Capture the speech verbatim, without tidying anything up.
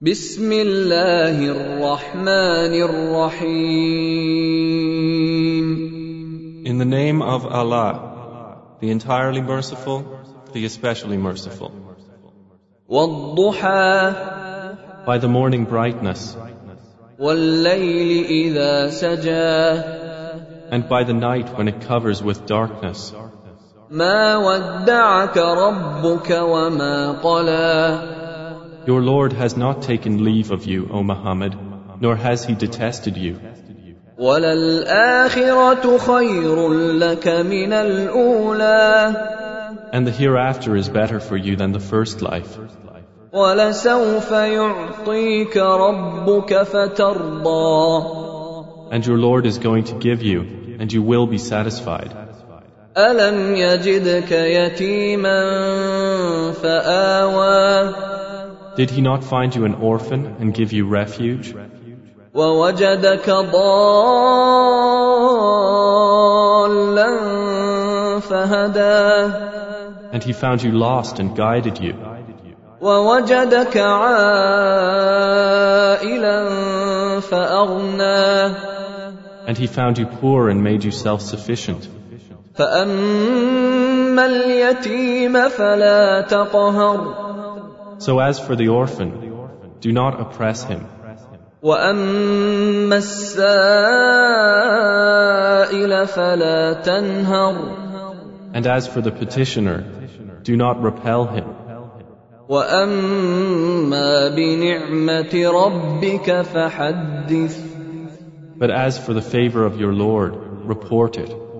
بسم الله الرحمن الرحيم. In the name of Allah, the entirely merciful, the especially merciful. والضحى By the morning brightness, والليل إذا سجى and by the night when it covers with darkness. ما ودعك ربك وما قلى Your Lord has not taken leave of you, O Muhammad, nor has He detested you. وَلَلْآخِرَةُ خَيْرٌ لَكَ مِنَ الْأُولَى And the hereafter is better for you than the first life. وَلَسَوْفَ يُعْطِيكَ رَبُّكَ فَتَرْضَى And your Lord is going to give you, and you will be satisfied. أَلَمْ يَجِدْكَ يَتِيمًا فَآوَى Did He not find you an orphan and give you refuge? وَوَجَدَكَ ضَالًّا فَهَدَى And He found you lost and guided you. وَوَجَدَكَ عَائِلًا فَأَغْنَى And He found you poor and made you self-sufficient. فَأَمَّا الْيَتِيمَ فَلَا تَقْهَرْ So as for the orphan, do not oppress him. وَأَمَّا السَّائِلَ فَلَا تَنْهَرْ And as for the petitioner, do not repel him. وَأَمَّا بِنِعْمَةِ رَبِّكَ فَحَدِّثْ But as for the favor of your Lord, report it.